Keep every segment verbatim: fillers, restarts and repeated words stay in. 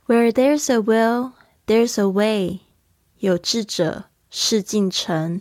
Where there's a will, there's a way. 有志者事竟成。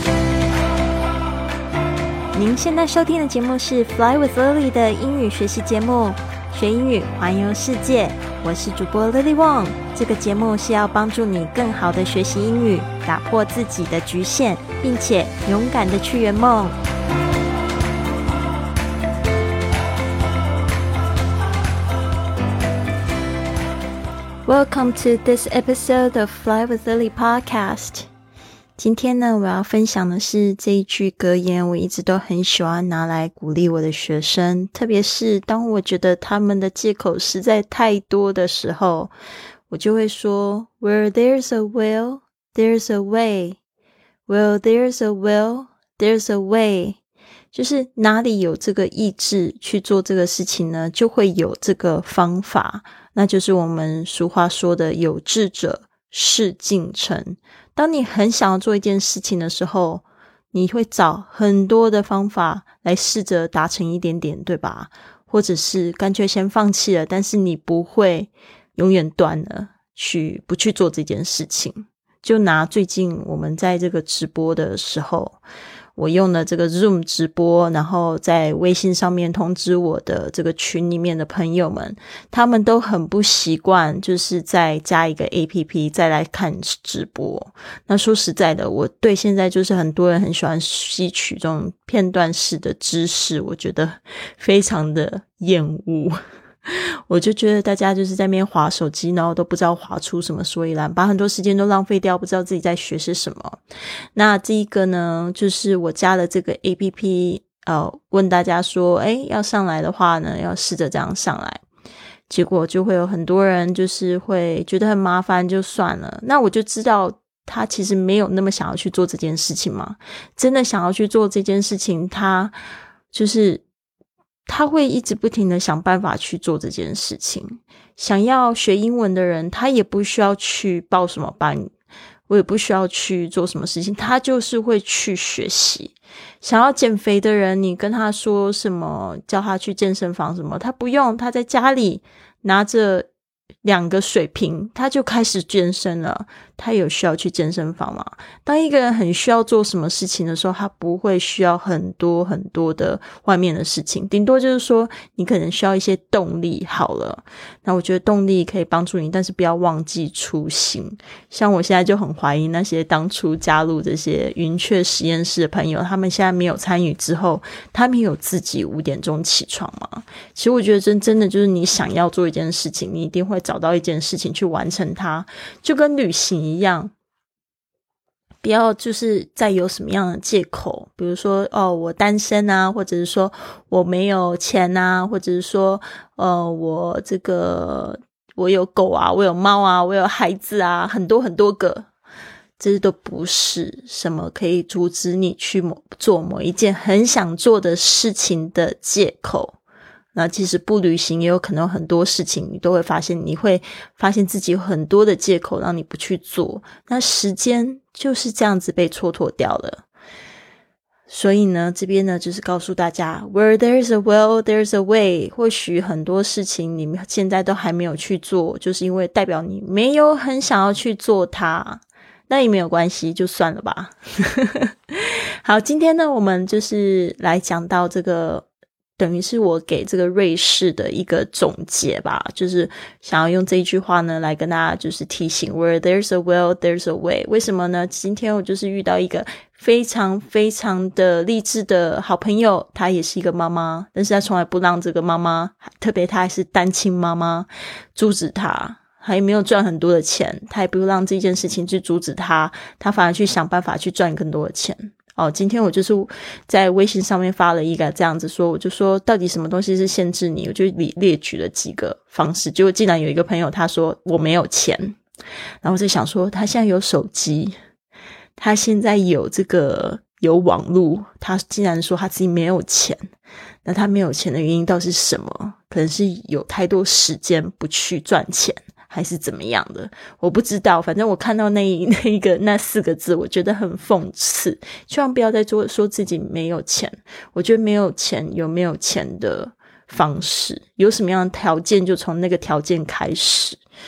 您现在收听的节目是 Fly with Lily 的英语学习节目，学英语环游世界。我是主播 Lily Wong。这个节目是要帮助你更好的学习英语，打破自己的局限，并且勇敢的去圆梦。Welcome to this episode of Fly with Lily podcast. 今天呢，我要分享的是这一句格言，我一直都很喜欢拿来鼓励我的学生，特别是当我觉得他们的借口实在太多的时候，我就会说 Where there's a will, there's a way. Where there's a will, there's a way. 就是哪里有这个意志去做这个事情呢，就会有这个方法，那就是我们俗话说的有志者事竟成。当你很想要做一件事情的时候，你会找很多的方法来试着达成一点点，对吧？或者是干脆先放弃了，但是你不会永远断了去不去做这件事情。就拿最近我们在这个直播的时候，我用了这个 Zoom 直播，然后在微信上面通知我的这个群里面的朋友们，他们都很不习惯就是再加一个 A P P 再来看直播。那说实在的，我对现在就是很多人很喜欢吸取这种片段式的知识，我觉得非常的厌恶。我就觉得大家就是在那边滑手机，然后都不知道滑出什么所以然，把很多时间都浪费掉，不知道自己在学些什么。那这一个呢，就是我加了这个 A P P， 呃，问大家说，诶，要上来的话呢，要试着这样上来。结果就会有很多人就是会觉得很麻烦，就算了。那我就知道他其实没有那么想要去做这件事情嘛。真的想要去做这件事情，他就是他会一直不停的想办法去做这件事情。想要学英文的人，他也不需要去报什么班，我也不需要去做什么事情，他就是会去学习。想要减肥的人，你跟他说什么，叫他去健身房什么，他不用，他在家里拿着两个水瓶，他就开始健身了。他有需要去健身房吗？当一个人很需要做什么事情的时候，他不会需要很多很多的外面的事情，顶多就是说你可能需要一些动力好了。那我觉得动力可以帮助你，但是不要忘记初心。像我现在就很怀疑那些当初加入这些云雀实验室的朋友，他们现在没有参与之后，他们有自己五点钟起床吗？其实我觉得真真的就是你想要做一件事情，你一定会找到一件事情去完成它，就跟旅行一样。不要就是再有什么样的借口，比如说哦我单身啊，或者是说我没有钱啊，或者是说呃我这个我有狗啊，我有猫啊，我有孩子啊，很多很多个，这都不是什么可以阻止你去某做某一件很想做的事情的借口。那其实不旅行也有可能有很多事情你都会发现，你会发现自己有很多的借口让你不去做，那时间就是这样子被蹉跎掉了。所以呢，这边呢就是告诉大家 Where there's a will, there's a way。 或许很多事情你们现在都还没有去做，就是因为代表你没有很想要去做它，那也没有关系，就算了吧。好，今天呢我们就是来讲到这个，等于是我给这个瑞士的一个总结吧，就是想要用这一句话呢来跟大家就是提醒 Where there's a will, there's a way。 为什么呢？今天我就是遇到一个非常非常的励志的好朋友，她也是一个妈妈，但是她从来不让这个妈妈，特别她还是单亲妈妈，阻止她，还没有赚很多的钱，她也不让这件事情去阻止她，她反而去想办法去赚更多的钱。哦，今天我就是在微信上面发了一个这样子说，我就说到底什么东西是限制你，我就列举了几个方式，结果竟然有一个朋友他说我没有钱，然后我就想说他现在有手机，他现在有这个有网络，他竟然说他自己没有钱，那他没有钱的原因到底是什么？可能是有太多时间不去赚钱，还是怎么样的，我不知道。反正我看到那一那一个那四个字，我觉得很讽刺。希望不要再做说自己没有钱。我觉得没有钱有没有钱的方式，有什么样的条件就从那个条件开始。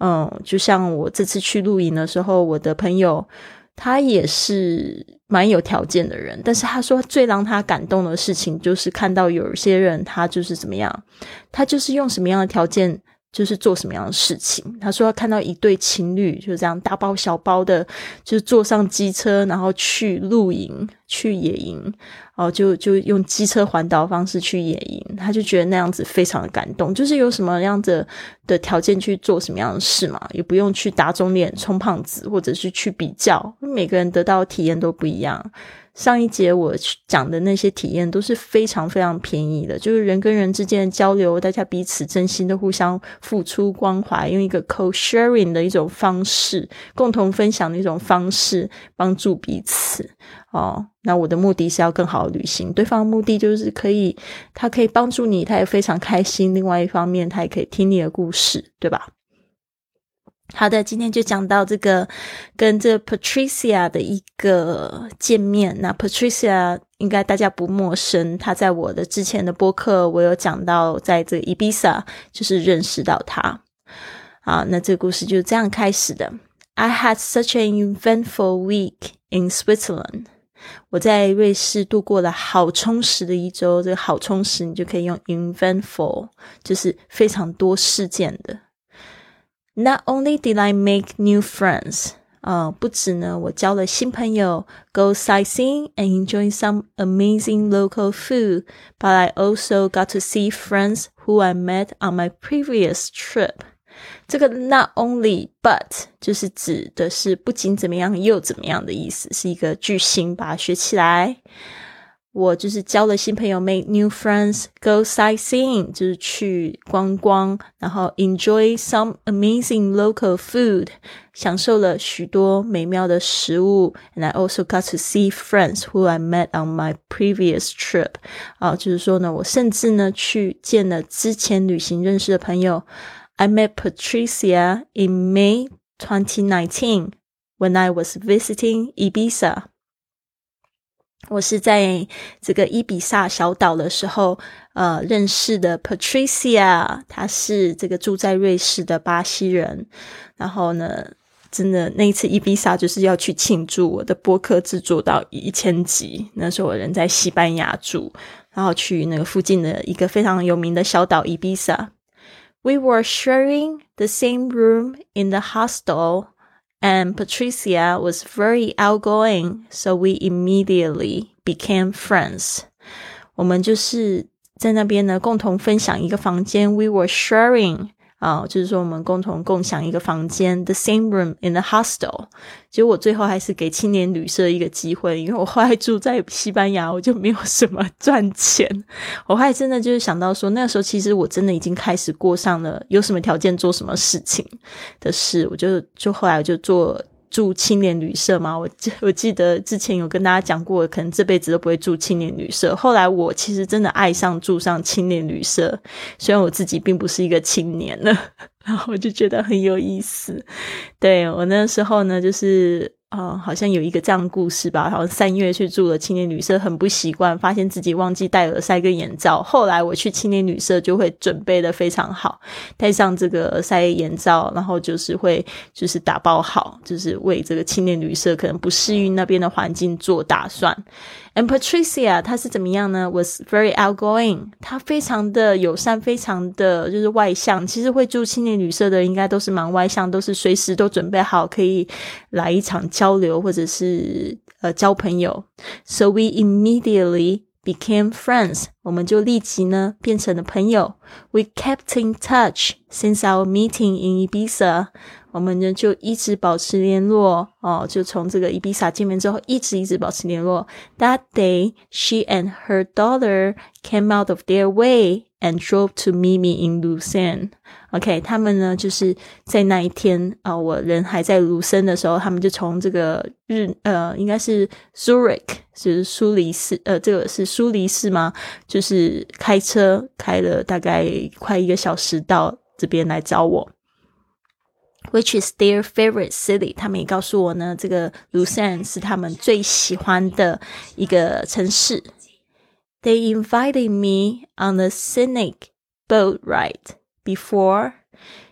嗯，就像我这次去露营的时候，我的朋友他也是蛮有条件的人，但是他说最让他感动的事情就是看到有一些人他就是怎么样，他就是用什么样的条件就是做什么样的事情。他说他看到一对情侣就这样大包小包的就是坐上机车，然后去露营去野营，哦，就就用机车环岛的方式去野营，他就觉得那样子非常的感动，就是有什么样子的条件去做什么样的事嘛，也不用去打肿脸充胖子，或者是去比较，每个人得到的体验都不一样。上一节我讲的那些体验都是非常非常便宜的，就是人跟人之间的交流，大家彼此真心的互相付出关怀，用一个 co-sharing 的一种方式，共同分享的一种方式帮助彼此。哦，那我的目的是要更好的旅行，对方的目的就是可以他可以帮助你，他也非常开心，另外一方面他也可以听你的故事，对吧？好的，今天就讲到这个跟这 Patricia 的一个见面。那 Patricia 应该大家不陌生，她在我的之前的播客我有讲到在这个 Ibiza 就是认识到她。好，那这个故事就是这样开始的。I had such an eventful week in Switzerland. 我在瑞士度过了好充实的一周，这个好充实你就可以用 eventful， 就是非常多事件的。Not only did I make new friends, 呃，不止呢，我交了新朋友 ，go sightseeing and enjoy some amazing local food, but I also got to see friends who I met on my previous trip. 这个 not only but 就是指的是不仅怎么样又怎么样的意思，是一个句型，把它学起来。我就是交了新朋友 make new friends, go sightseeing 就是去观光，然后 enjoy some amazing local food 享受了许多美妙的食物， and I also got to see friends who I met on my previous trip 啊，就是说呢，我甚至呢去见了之前旅行认识的朋友。I met Patricia in May twenty nineteen when I was visiting Ibiza.我是在这个伊比萨小岛的时候呃，认识的 Patricia， 她是这个住在瑞士的巴西人。然后呢，真的那一次伊比萨就是要去庆祝我的播客制作到一千集，那时候我人在西班牙住，然后去那个附近的一个非常有名的小岛伊比萨。We were sharing the same room in the hostel.And Patricia was very outgoing, so we immediately became friends. 我们就是在那边呢共同分享一个房间 We were sharing 啊、呃，就是说我们共同共享一个房间 The same room in the hostel. 结果我最后还是给青年旅社一个机会，因为我后来住在西班牙，我就没有什么赚钱。我后来真的就是想到说，那个时候其实我真的已经开始过上了有什么条件做什么事情的事，我就就后来我就做住青年旅社嘛，我我记得之前有跟大家讲过，可能这辈子都不会住青年旅社。后来我其实真的爱上住上青年旅社，虽然我自己并不是一个青年了，然后我就觉得很有意思。对，我那时候呢，就是呃，好像有一个这样的故事吧，好像三月去住了青年旅社，很不习惯，发现自己忘记戴耳塞跟眼罩。后来我去青年旅社就会准备的非常好，戴上这个耳塞眼罩，然后就是会就是打包好，就是为这个青年旅社可能不适应那边的环境做打算。And Patricia 她是怎么样呢 was very outgoing， 她非常的友善，非常的就是外向。其实会住青年旅社的应该都是蛮外向，都是随时都准备好可以来一场交流或者是呃交朋友。 So we immediately became friends， 我们就立即呢变成了朋友。 We kept in touch since our meeting in Ibiza， 我们呢就一直保持联络哦，就从这个 Ibiza 见面之后一直一直保持联络。 That day, she and her daughter came out of their way and drove to meet me in Lucerne. OK， 他们呢就是在那一天啊、呃，我人还在卢森的时候，他们就从这个日呃，应该是 Zurich， 就是苏黎世，呃，这个是苏黎世吗？就是开车开了大概快一个小时到这边来找我。Which is their favorite city， 他们也告诉我呢，这个 Lucerne 是他们最喜欢的一个城市。They invited me on a scenic boat ride before，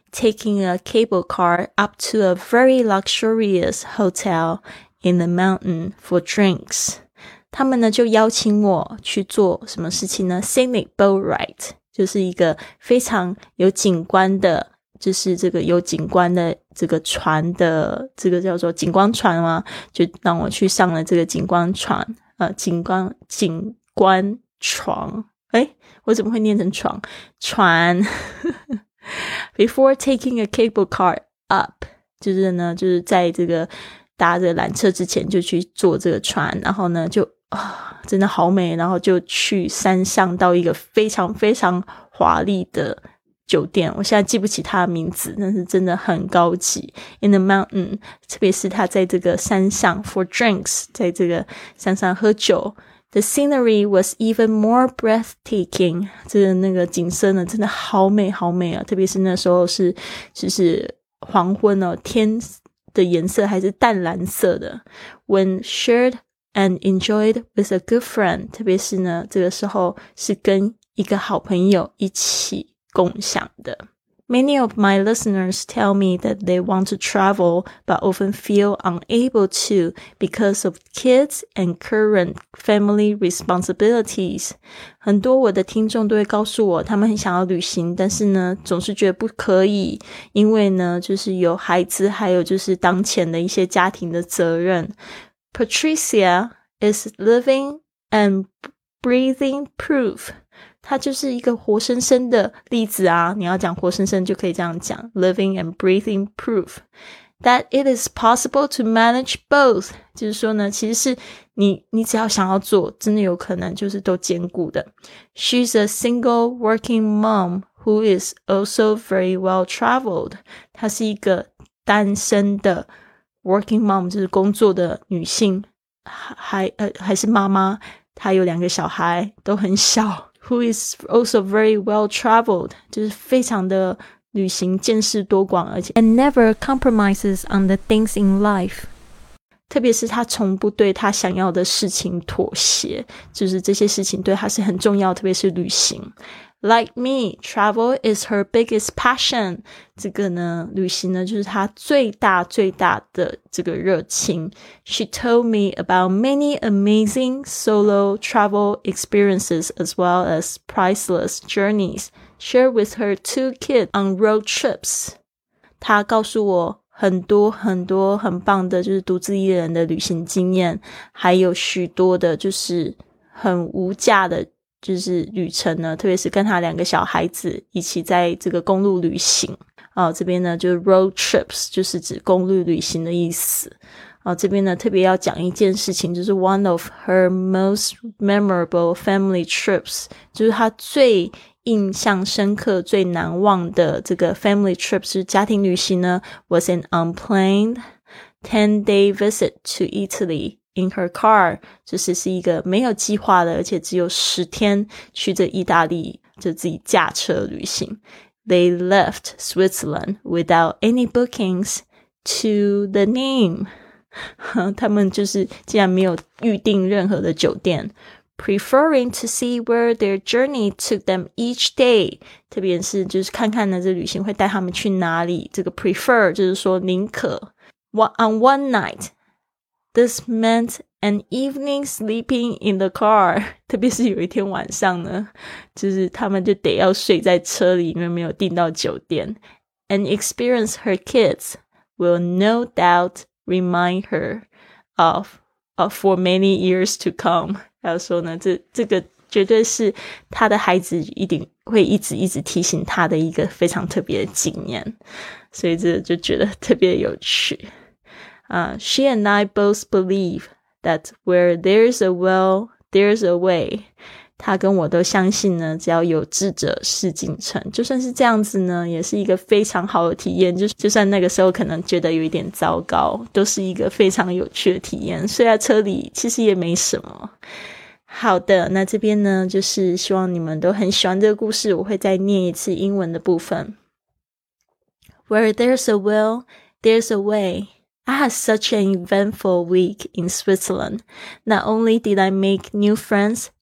taking a cable car up to a very luxurious hotel in the mountain for drinks. 他们呢就邀请我去做什么事情呢？ Scenic boat ride 就是一个非常有景观的，就是这个有景观的这个船的，这个叫做景观船吗？就让我去上了这个景观船，呃，景观景观床。诶，我怎么会念成床？船。Before taking a cable car up， 就是呢，就是在这个搭着缆车之前就去坐这个船，然后呢就啊，真的好美，然后就去山上到一个非常非常华丽的酒店，我现在记不起它的名字，但是真的很高级。In the mountain， 特别是它在这个山上 for drinks， 在这个山上喝酒。The scenery was even more breathtaking， 这个那个景色呢真的好美好美啊，特别是那时候是就是黄昏哦，天的颜色还是淡蓝色的。When shared and enjoyed with a good friend， 特别是呢这个时候是跟一个好朋友一起共享的。Many of my listeners tell me that they want to travel but often feel unable to because of kids and current family responsibilities. 很多我的听众都会告诉我他们很想要旅行，但是呢总是觉得不可以，因为呢就是有孩子，还有就是当前的一些家庭的责任。Patricia is living and breathing proof，它就是一个活生生的例子啊，你要讲活生生就可以这样讲 living and breathing proof that it is possible to manage both， 就是说呢其实是你你只要想要做，真的有可能就是都兼顾的。 She's a single working mom who is also very well traveled， 她是一个单身的 working mom， 就是工作的女性，还呃还是妈妈，她有两个小孩都很小。Who is also very well traveled， 就是非常的旅行见识多广，而且 and never compromises on the things in life， 特别是他从不对他想要的事情妥协，就是这些事情对他是很重要，特别是旅行。Like me, travel is her biggest passion. 这个呢，旅行呢，就是她最大最大的这个热情。She told me about many amazing solo travel experiences as well as priceless journeys shared with her two kids on road trips. 她告诉我很多很多很棒的就是独自一人的旅行经验，还有许多的就是很无价的就是旅程呢，特别是跟他两个小孩子一起在这个公路旅行。哦，这边呢就是 road trips， 就是指公路旅行的意思。哦，这边呢特别要讲一件事情，就是 one of her most memorable family trips， 就是她最印象深刻最难忘的这个 family trips， 就是家庭旅行呢 was an unplanned ten day visit to Italy。In her car， 就是是一个没有计划的，而且只有十天去这意大利，就自己驾车旅行。They left Switzerland without any bookings to the name 他们就是竟然没有预定任何的酒店。Preferring to see where their journey took them each day， 特别是就是看看呢这旅行会带他们去哪里，这个 prefer 就是说宁可。On one night，This meant an evening sleeping in the car， 特别是有一天晚上呢，就是他们就得要睡在车里，因为没有订到酒店。An experience her kids will no doubt remind her of, of for many years to come。 还有说呢，这这个绝对是他的孩子一定会一直一直提醒他的一个非常特别的经验，所以这就觉得特别有趣。Uh, she and I both believe that where there's a will, there's a way. 她跟我都相信呢，只要有志者事竟成。就算是这样子呢，也是一个非常好的体验。就就算那个时候可能觉得有一点糟糕，都是一个非常有趣的体验。睡在车里其实也没什么。好的，那这边呢，就是希望你们都很喜欢这个故事。我会再念一次英文的部分。Where there's a will, there's a way.I had such an eventful week in Switzerland. Not only did I make new friends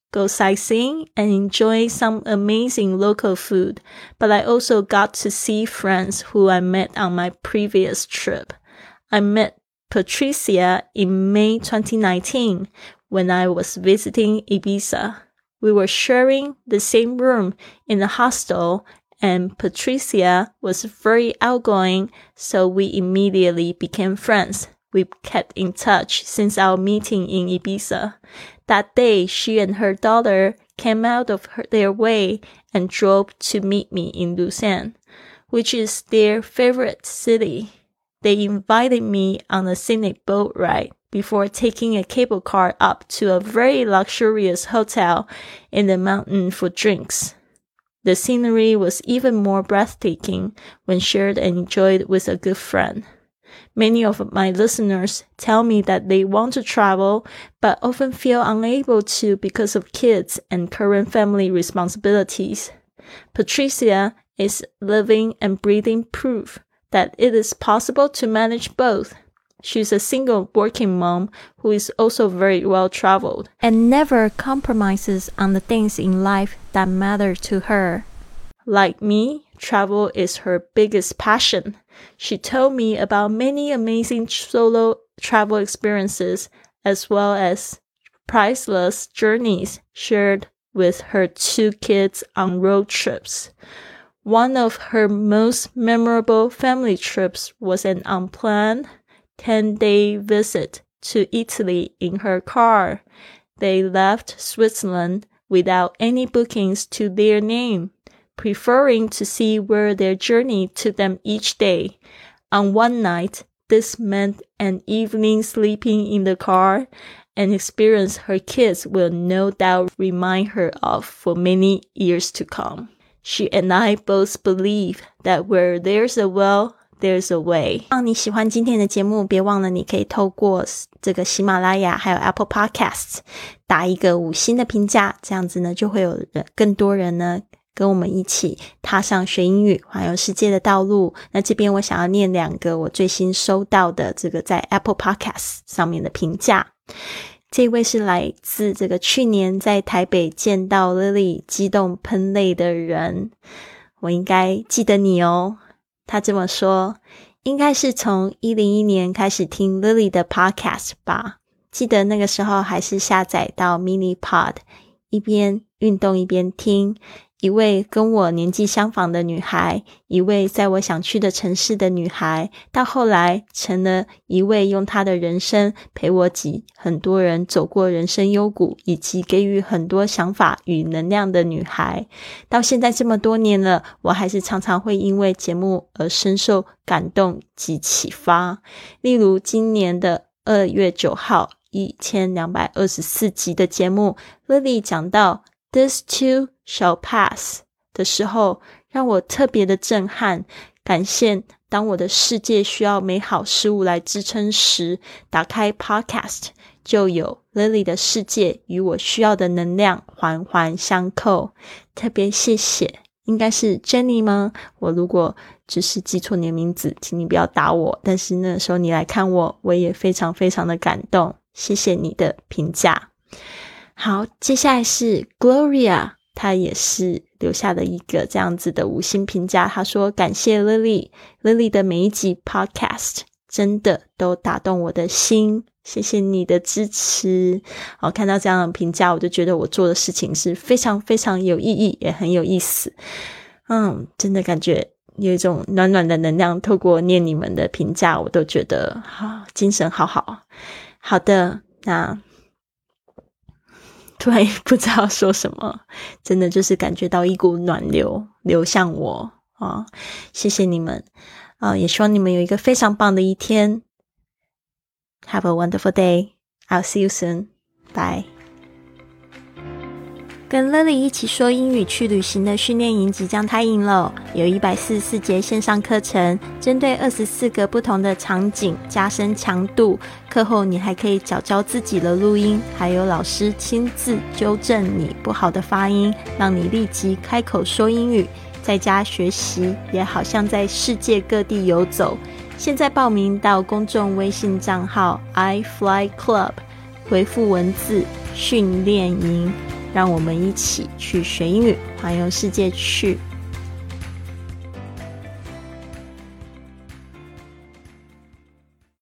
go sightseeing, and enjoy some amazing local food, but I also got to see friends who I met on my previous trip. I met Patricia in May twenty nineteen when I was visiting Ibiza. We were sharing the same room in the hostel, and Patricia was very outgoing, so we immediately became friends. We kept in touch since our meeting in Ibiza. That day, she and her daughter came out of her, their way and drove to meet me in Lausanne, which is their favorite city. They invited me on a scenic boat ride before taking a cable car up to a very luxurious hotel in the mountain for drinks. The scenery was even more breathtaking when shared and enjoyed with a good friend. Many of my listeners tell me that they want to travel, but often feel unable to because of kids and current family responsibilities. Patricia is living and breathing proof that it is possible to manage both. She's a single working mom who is also very well traveled and never compromises on the things in life that matter to her. Like me, travel is her biggest passion. She told me about many amazing solo travel experiences as well as priceless journeys shared with her two kids on road trips. One of her most memorable family trips was an unplanned ten-day visit to Italy in her car. They left Switzerland without any bookings to their name, preferring to see where their journey took them each day. On one night, this meant an evening sleeping in the car, an experience her kids will no doubt remind her of for many years to come. She and I both believe that where there's a will, there's a way. 让你喜欢今天的节目，别忘了你可以透过这个喜马拉雅还有 Apple Podcasts 打一个五星的评价，这样子呢就会有人更多人呢跟我们一起踏上学英语环游世界的道路。那这边我想要念两个我最新收到的这个在 Apple Podcasts 上面的评价。这位是来自这个去年在台北见到 Lily 激动喷泪的人，我应该记得你哦。他这么说，应该是从一零一年开始听 Lily 的 podcast 吧，记得那个时候还是下载到 mini pod， 一边运动一边听。一位跟我年纪相仿的女孩，一位在我想去的城市的女孩，到后来成了一位用她的人生陪我挤很多人走过人生幽谷，以及给予很多想法与能量的女孩。到现在这么多年了，我还是常常会因为节目而深受感动及启发。例如今年的二月九号一千两百二十四集的节目， Lily 讲到 This too shall pass 的时候，让我特别的震撼。感谢当我的世界需要美好事物来支撑时，打开 podcast 就有 Lily 的世界与我需要的能量环环相扣。特别谢谢，应该是 Jenny 吗？我如果只是记错你的名字，请你不要打我，但是那时候你来看我，我也非常非常的感动，谢谢你的评价。好，接下来是 Gloria， 她也是留下了一个这样子的五星评价。她说感谢 Lily Lily 的每一集 podcast 真的都打动我的心，谢谢你的支持。好，看到这样的评价，我就觉得我做的事情是非常非常有意义，也很有意思。嗯，真的感觉有一种暖暖的能量，透过念你们的评价，我都觉得好精神好好。好的，那突然不知道说什么，真的就是感觉到一股暖流流向我啊！谢谢你们啊，也希望你们有一个非常棒的一天。Have a wonderful day. I'll see you soon. Bye. 跟 Lily 一起说英语去旅行的训练营即将开营了，有一百四十四节线上课程，针对二十四个不同的场景加深强度。课后你还可以教教自己的录音，还有老师亲自纠正你不好的发音，让你立即开口说英语。在家学习也好像在世界各地游走。现在报名到公众微信账号 I Fly Club， 回复文字训练营让我们一起去学英语，环游世界去。